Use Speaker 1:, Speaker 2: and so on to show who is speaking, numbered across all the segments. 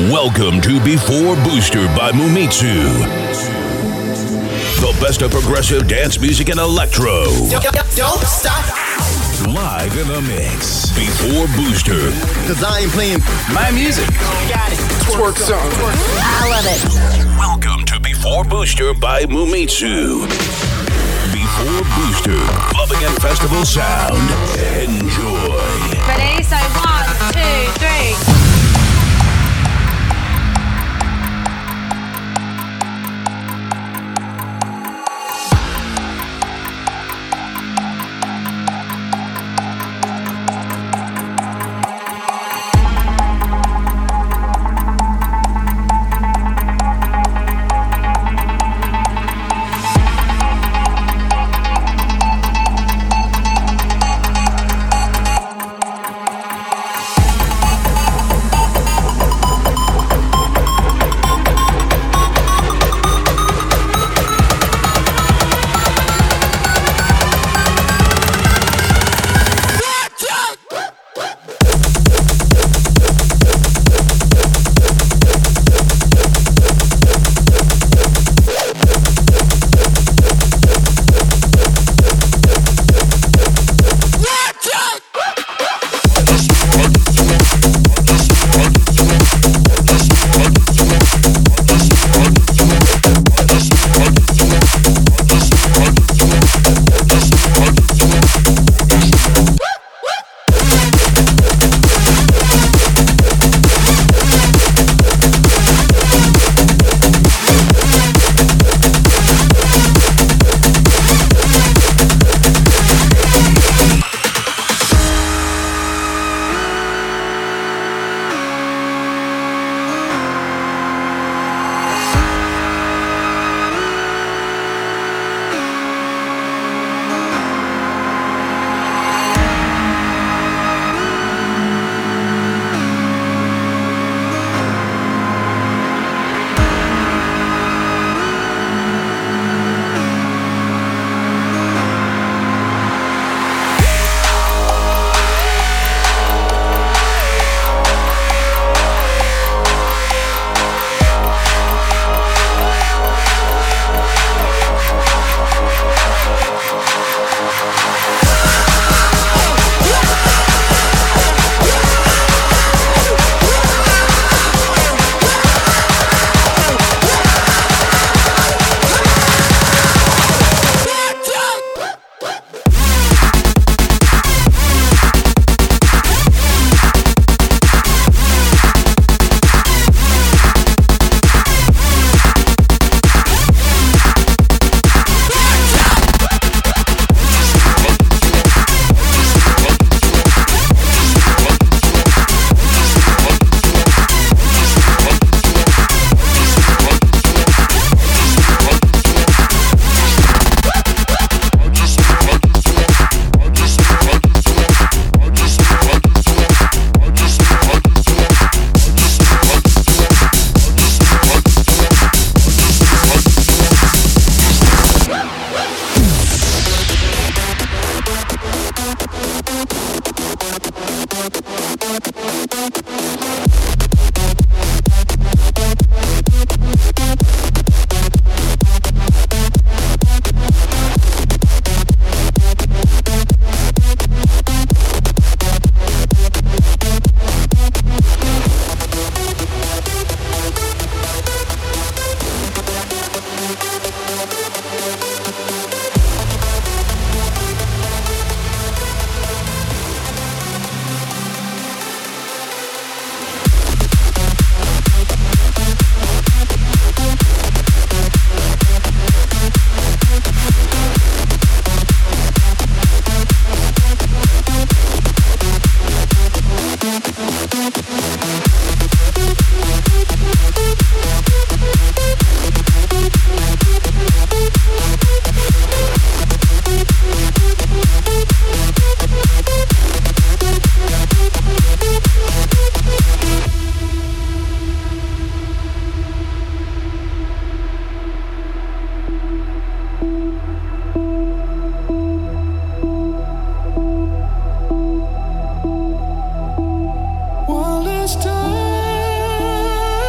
Speaker 1: Welcome to Before Booster by Mumitsu. The best of progressive dance music and electro.
Speaker 2: Don't stop.
Speaker 1: Live in the mix. Before Booster.
Speaker 2: Cause I ain't playing
Speaker 3: my music.
Speaker 2: Got it. Twerk song.
Speaker 4: I love it.
Speaker 1: Welcome to Before Booster by Mumitsu. Before Booster. Clubbing and festival sound. Enjoy.
Speaker 4: Ready? So 1, 2, 3.
Speaker 5: One last time.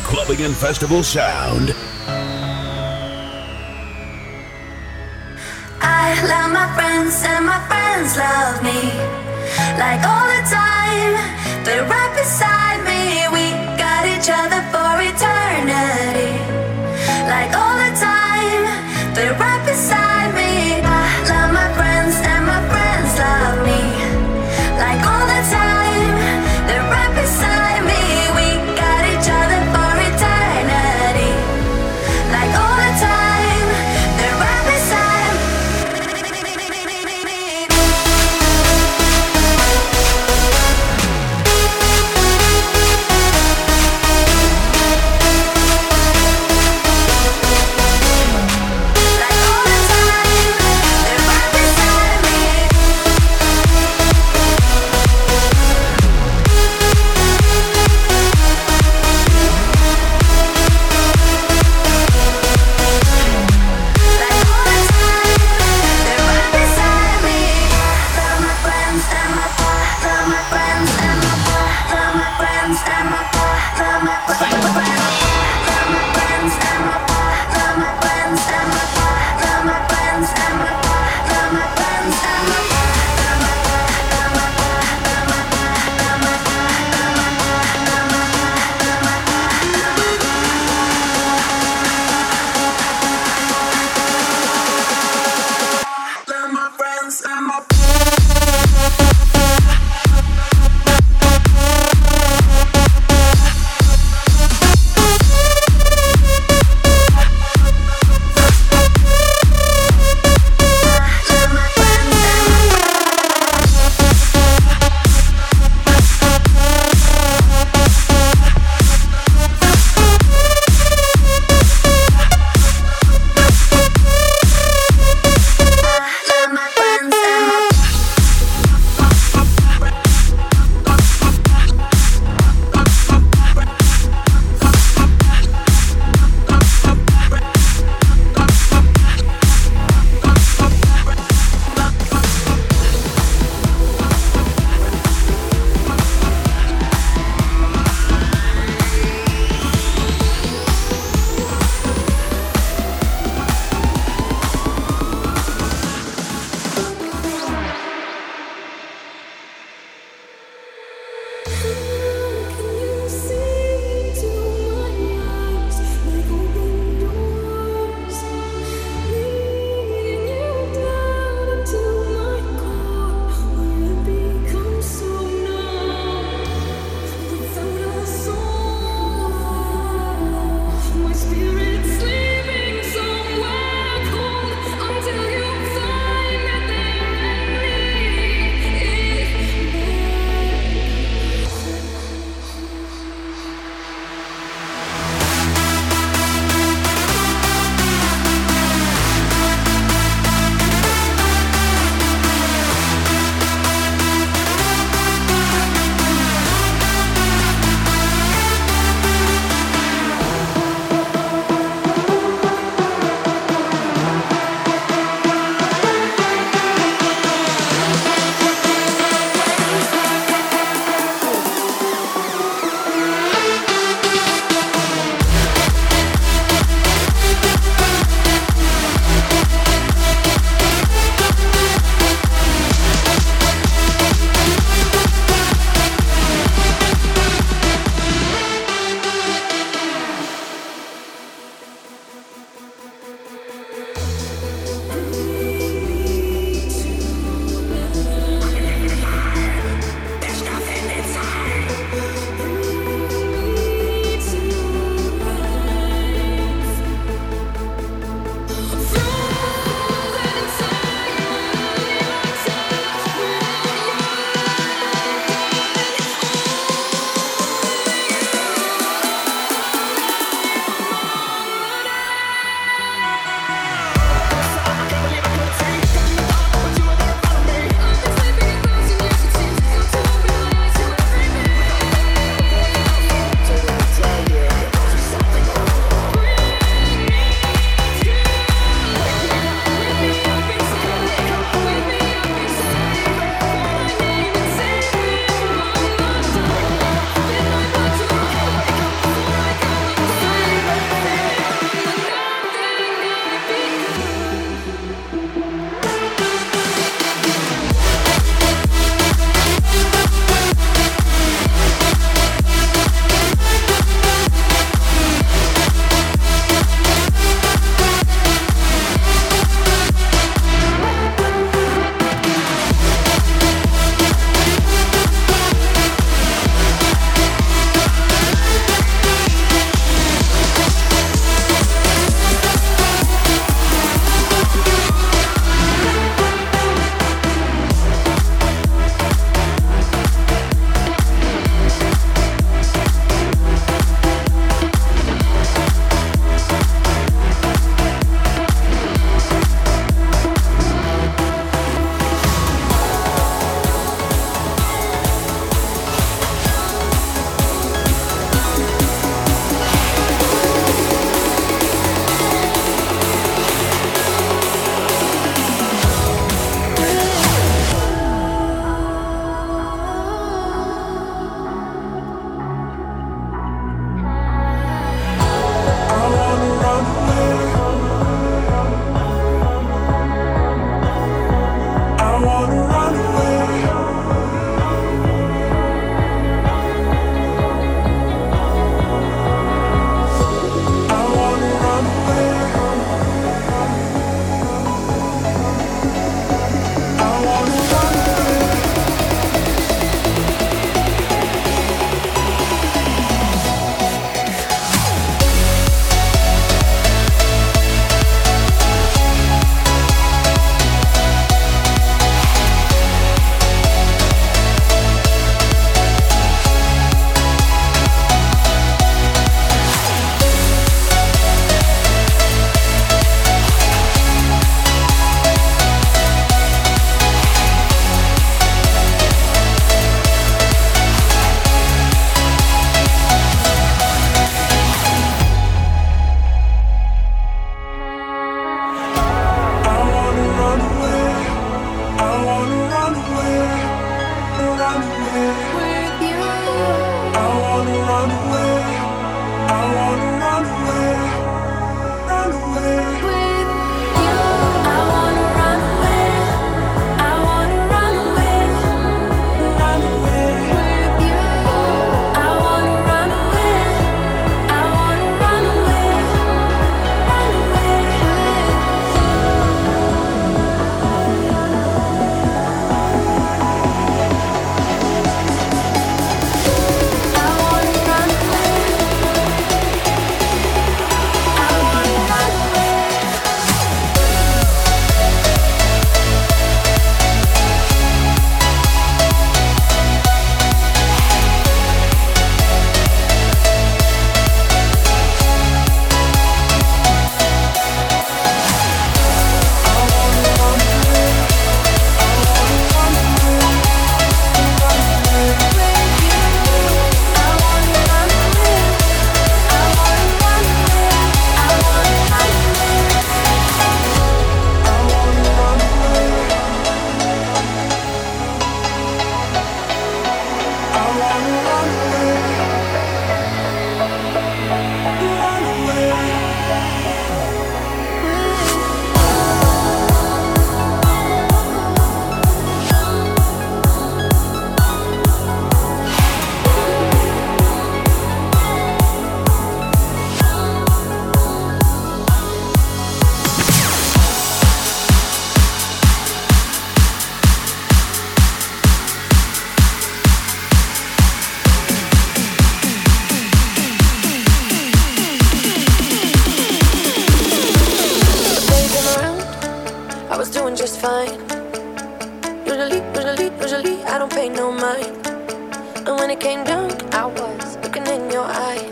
Speaker 1: clubbing and festival sound.
Speaker 3: I love my friends and my friends love me. Like all the time, they're right beside me. We got each other for eternity. Like all the time, they're right beside me. I love my friends and my friends love me. Like all the time, they're right beside me. We got each other for eternity. Like all the time, they're right beside me.
Speaker 5: was doing just fine. Usually, I don't pay no mind. And when it came down, I was looking in your eyes.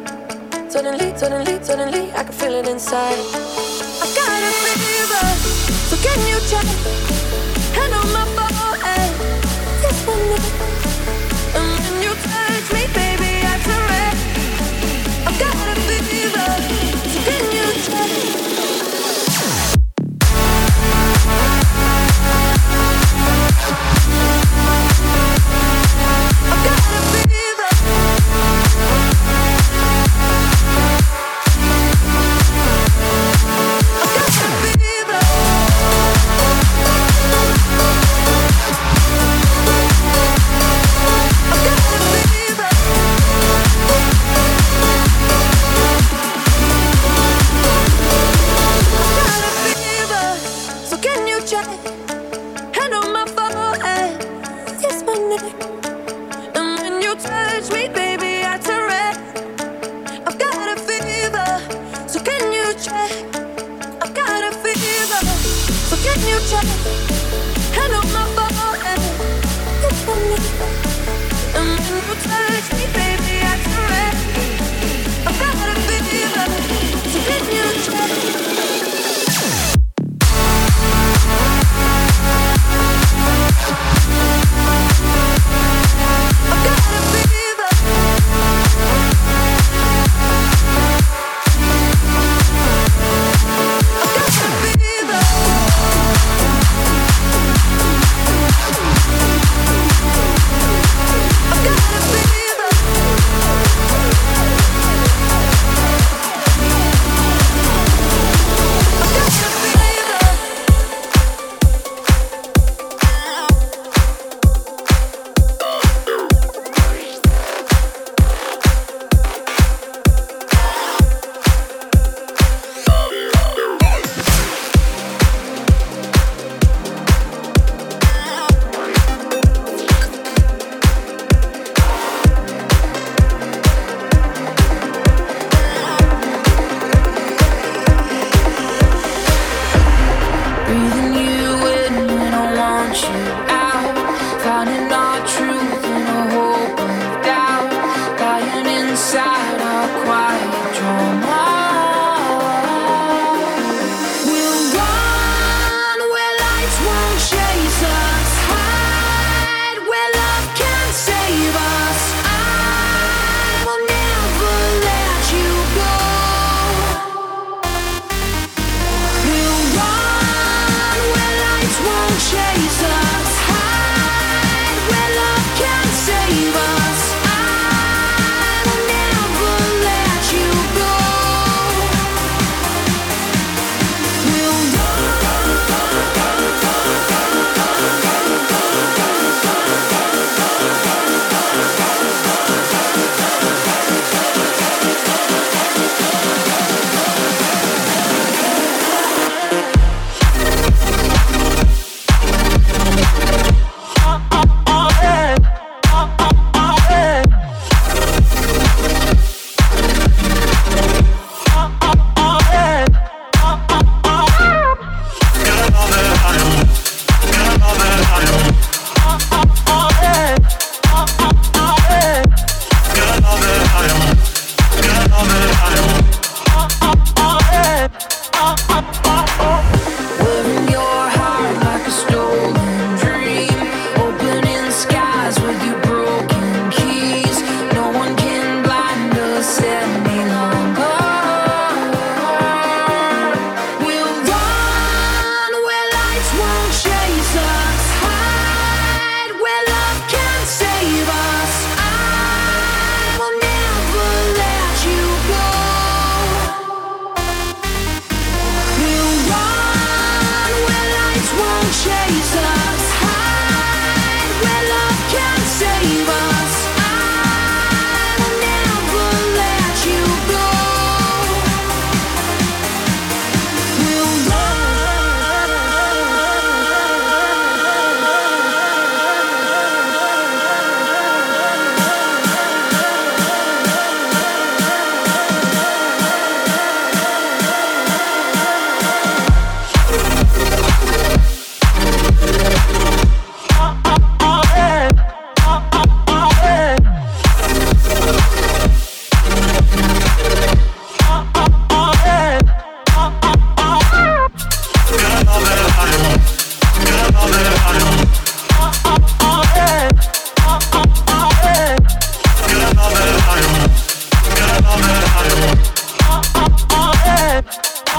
Speaker 5: Suddenly, I could feel it inside. I got a fever, so can you check? Hand on my forehead, this one. And when you touch me, baby, I turn red. I got a fever, so can you check?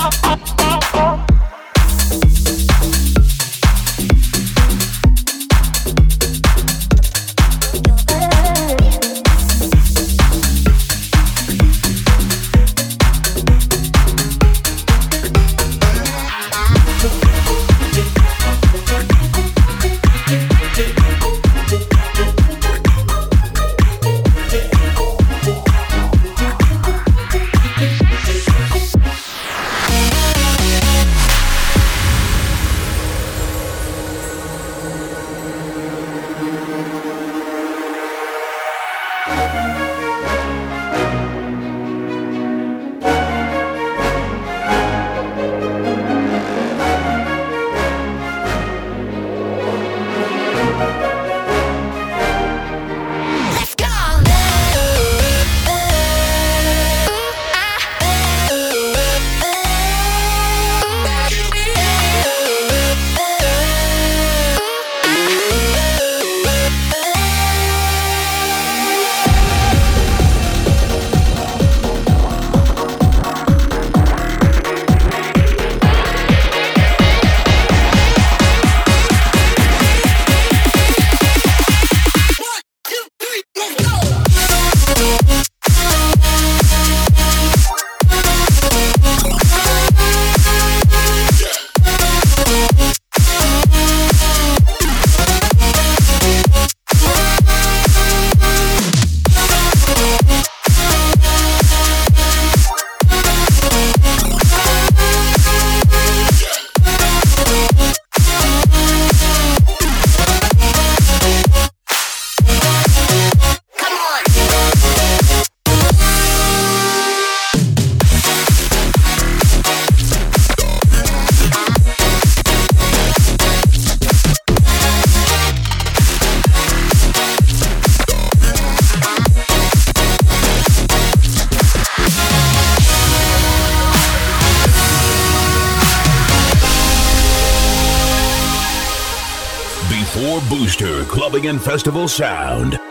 Speaker 1: Before Booster Clubbing and Festival Sound.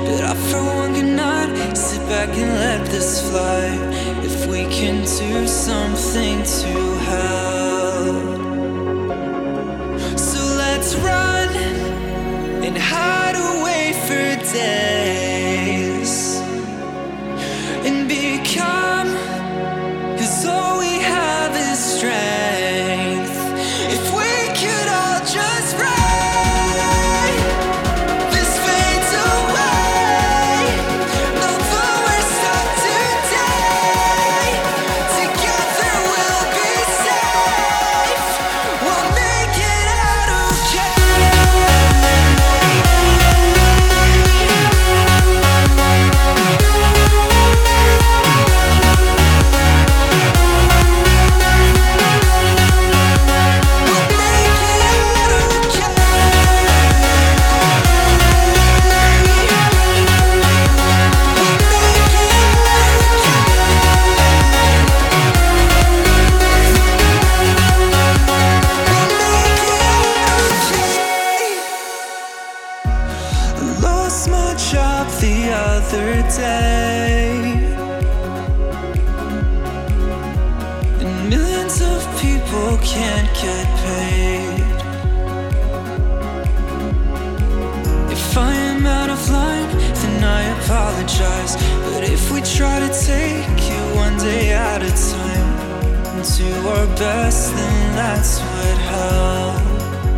Speaker 6: but I for one cannot sit back and let this fly. If we can do something to help, so let's run and hide away for days and become, 'cause all we have is strength. If we could all just ride, this fades away. No, though we're stuck today, together we'll be safe. We'll make it out okay. Lost my job the other day, and millions of people can't get paid. If I am out of line, then I apologize. But if we try to take it one day at a time and do our best, then that's what helps.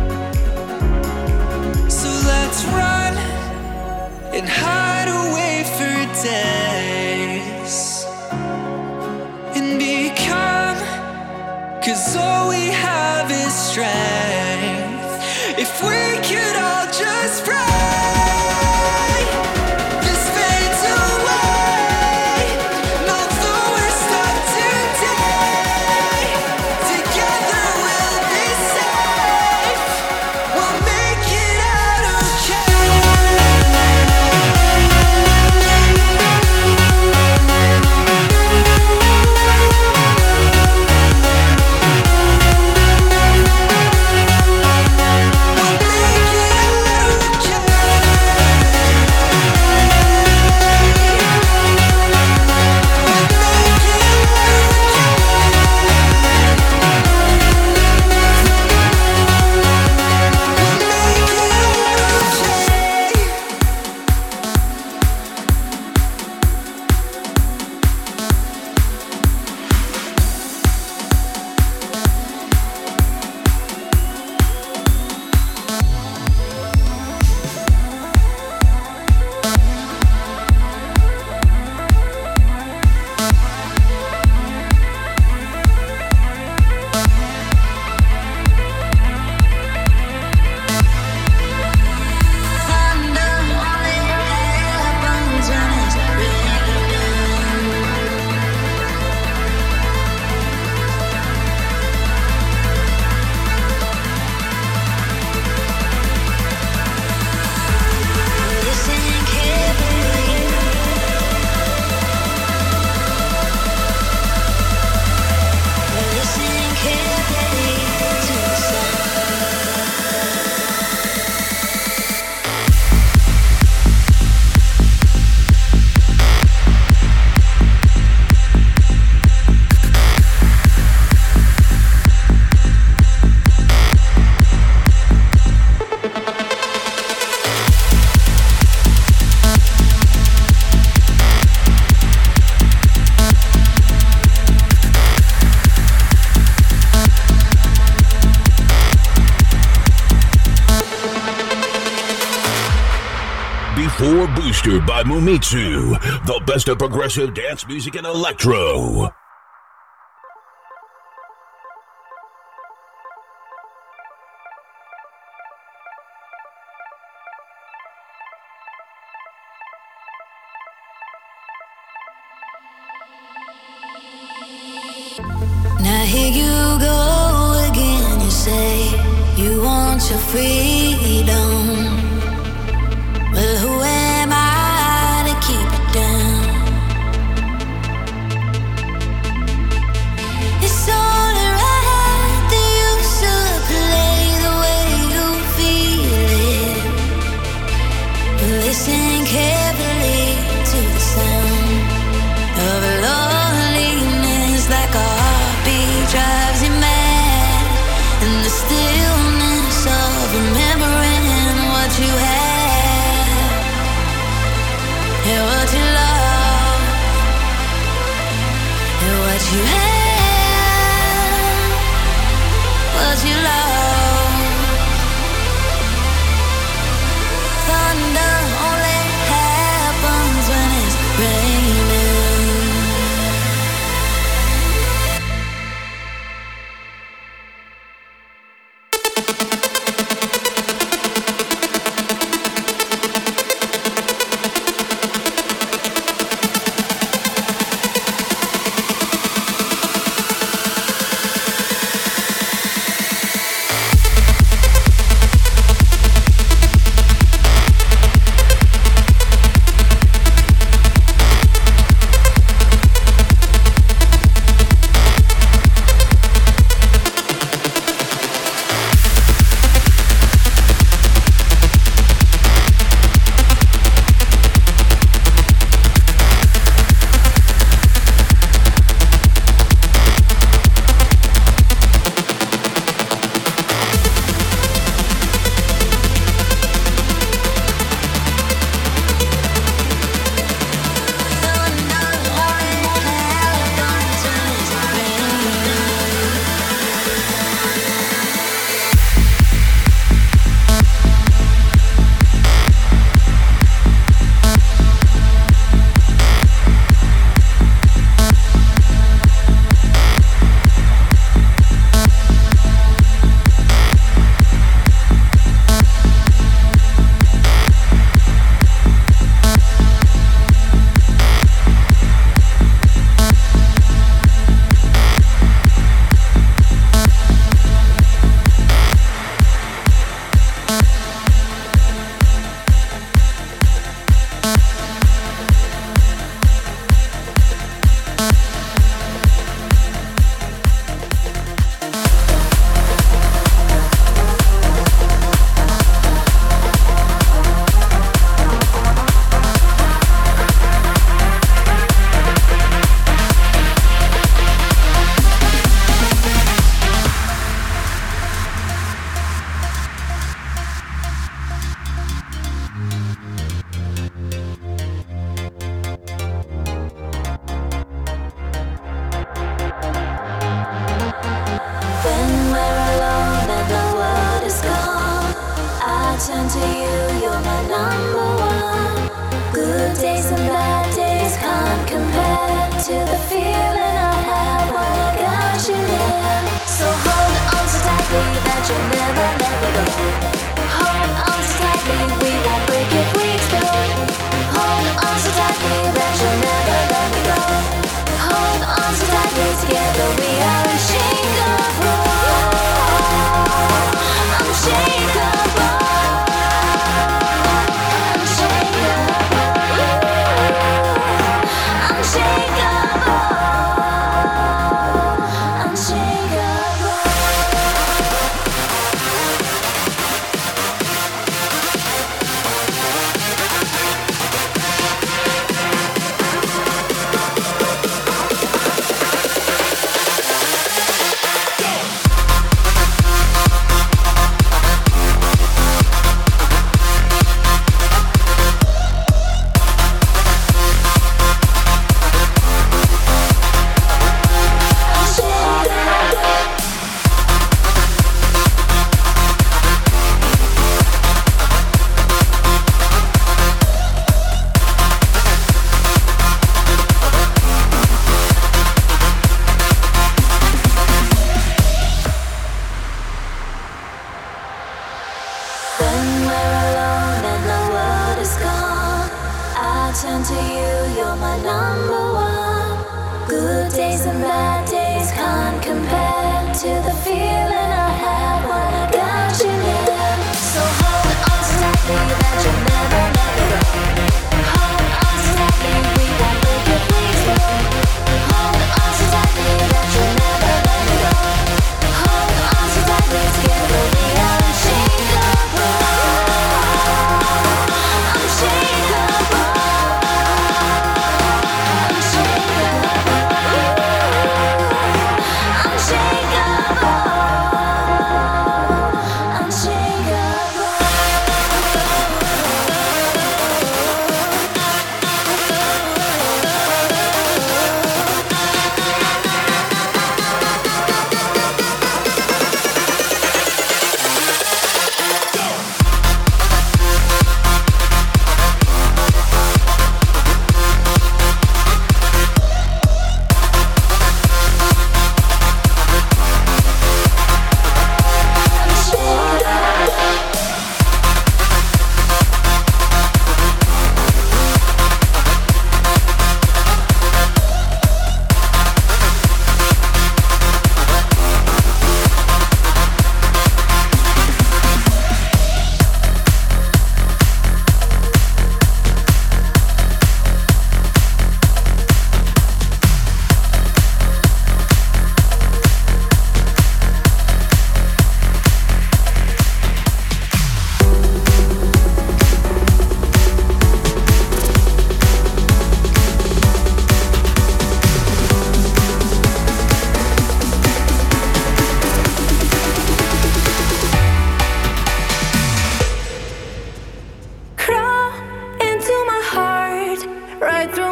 Speaker 6: So let's run and hide away for days and become, 'cause all we have is strength. If we could all just ride, this fades away. No, though we're stuck today, together we'll be safe. We'll make it out okay.
Speaker 1: Before Booster by Mumitsu, the best of progressive dance music and electro.
Speaker 5: Now here you go again, you say you want your freedom. Well, who am I to keep it down? It's only right that you should play the way you feel it. But listen carefully.
Speaker 3: you have what you love. Thunder only happens when it's raining. turn to you, you're my number one. Good days and bad days can't compare to the feeling I have when I got you near. So hold on so tightly that you'll never let me go. Hold on so tightly, we won't break if we explode. Hold on so tightly that you'll never let me go. Hold on so tightly, together we are unshakable. Unshakable. Turn to you, you're my number one. Good days and bad days can't compare to the feeling I had when I got you near. So hold on so tightly that you'll never let me go. Hold on so tightly, we won't break if we explode. Hold on so tightly that you'll never let me go. Hold on so tightly, together we are unshakable. Unshakable. Unshakable.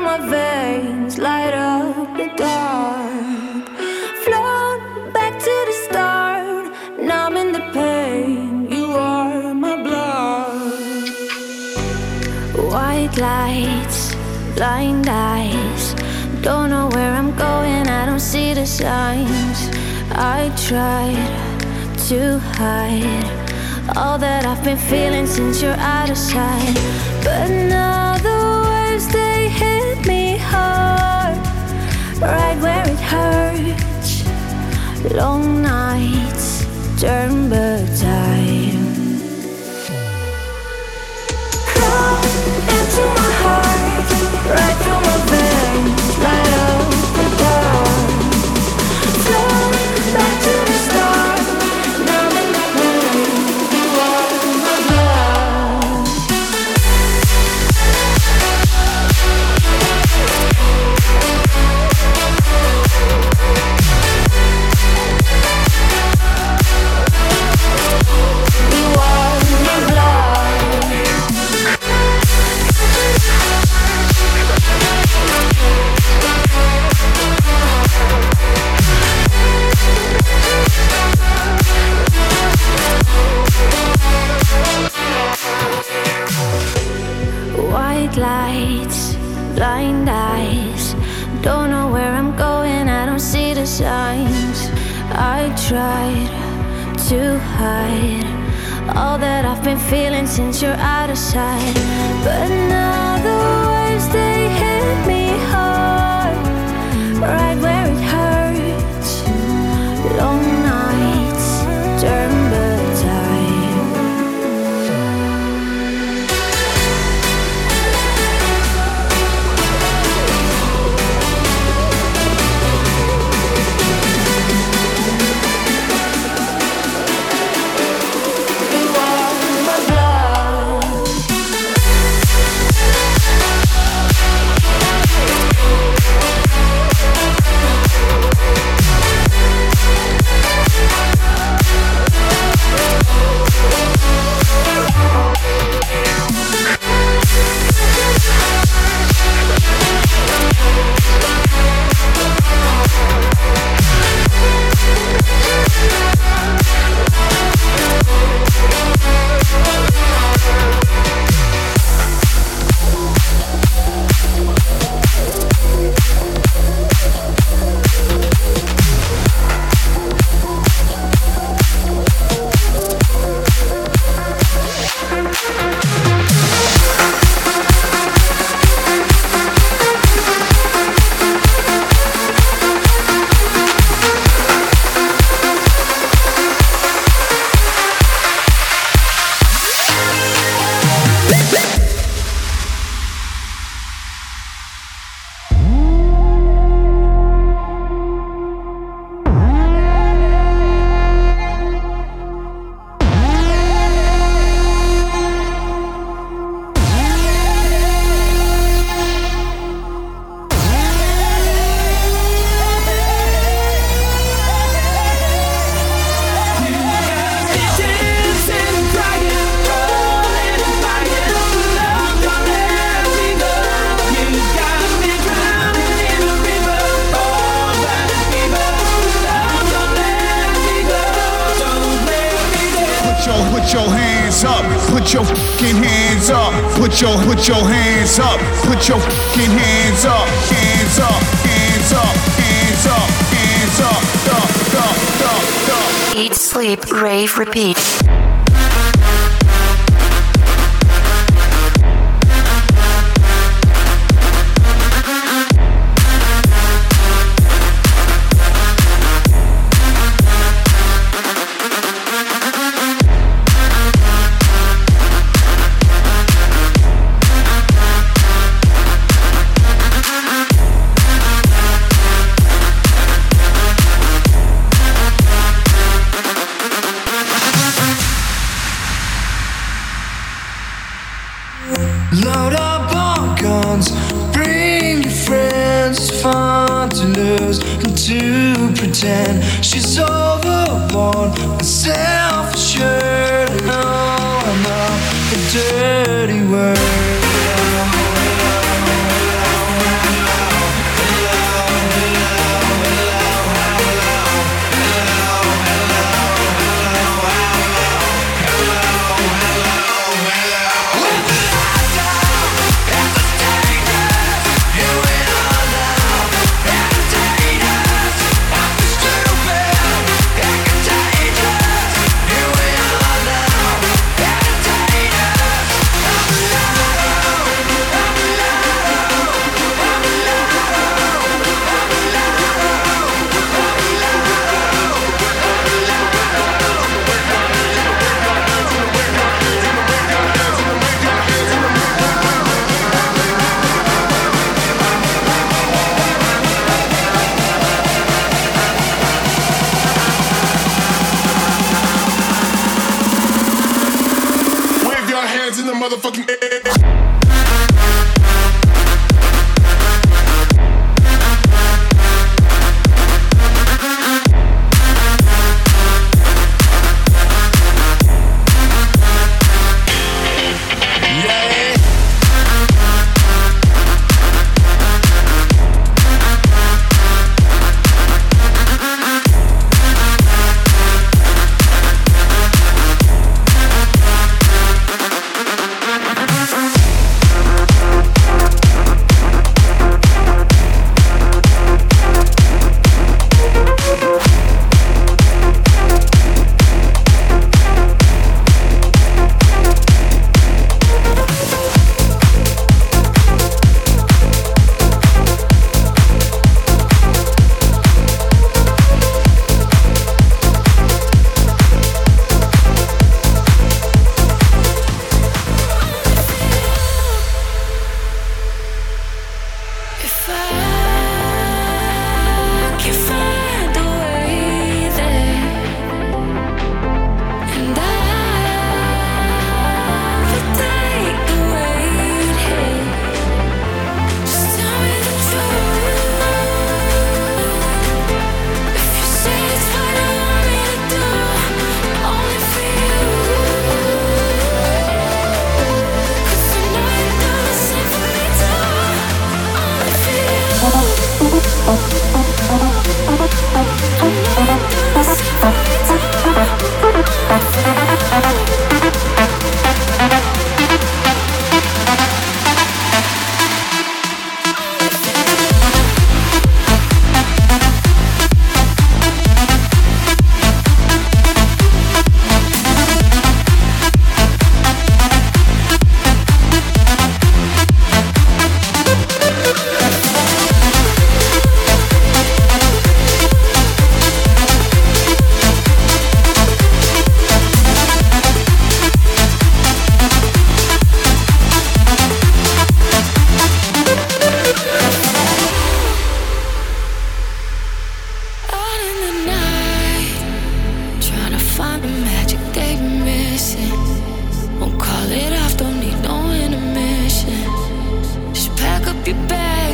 Speaker 5: my veins light up the dark. Float back to the start, numbing the pain. You are my blood. White lights, blind eyes. Don't know where I'm going, I don't see the signs. I tried to hide all that I've been feeling since you're out of sight. But now the waves, they hit me hard, right where it hurts. Long nights turn back time. Come into my heart, right through my veins, light up the dark. Float back to the start, numb in the pain. You are my blood. You are my blood. White lights, blind eyes. Don't know where I'm going, I don't see the signs. I tried to hide all that I've been feeling since you're out of sight. But now the waves, they hit me hard, right where it hurts. Long nights turn back time. You are my blood.
Speaker 7: Put your hands up, put your fucking hands up, put your hands up, put your fucking hands up, hands up, hands up, hands up, hands up,
Speaker 8: Eat, sleep, rave, repeat.
Speaker 6: Load up on guns, bring your friends. It's fun to lose and to pretend she's overboard and self-assured. No, I'm not a dirty word.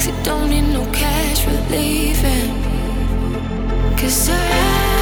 Speaker 5: Don't need no cash for leaving. 'Cause I